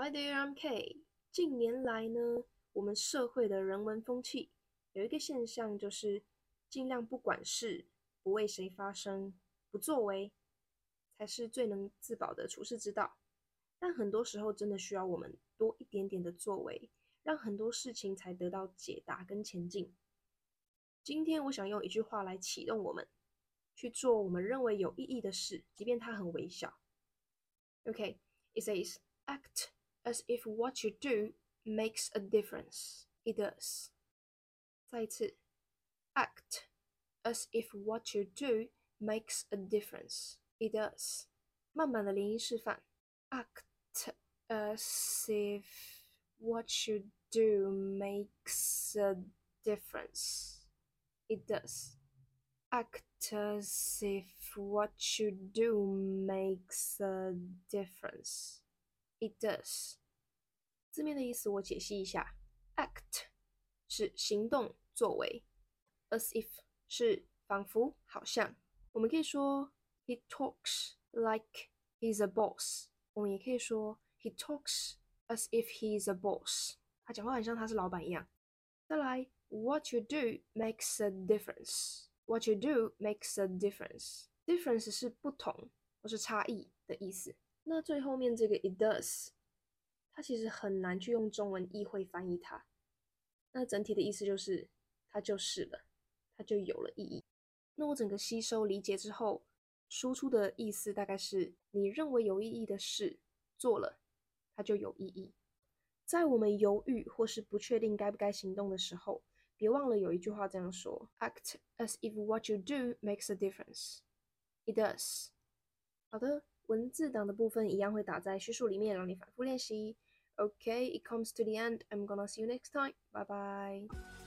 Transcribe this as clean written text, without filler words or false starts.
Hi there, I'm Kay。近年来呢，我们社会的人文风气有一个现象，就是尽量不管事，不为谁发声，不作为，才是最能自保的处世之道。但很多时候真的需要我们多一点点的作为，让很多事情才得到解答跟前进。今天我想用一句话来启动我们，去做我们认为有意义的事，即便它很微小。Okay, it says, act as if what you do makes a difference. It does. 再一次 act as if what you do makes a difference. It does. 慢慢的连音示范 act as if what you do makes a difference. It does. Act as if what you do makes a difference. It does. 字面的意思我解析一下 ，act 是行动作为 ，as if 是仿佛好像。我们可以说 he talks like he's a boss， 我们也可以说 he talks as if he's a boss， 他讲话很像他是老板一样。再来 what you do makes a difference，what you do makes a difference，difference 是不同或是差异的意思。那最后面这个 it does， 它其实很难去用中文意会翻译它。那整体的意思就是它就是了，它就有了意义。那我整个吸收理解之后，输出的意思大概是你认为有意义的事做了，它就有意义。在我们犹豫或是不确定该不该行动的时候，别忘了有一句话这样说 ：Act as if what you do makes a difference. It does. 好的，文字档的部分一样会打在叙述里面，让你反复练习。Okay, it comes to the end. I'm gonna see you next time. Bye bye.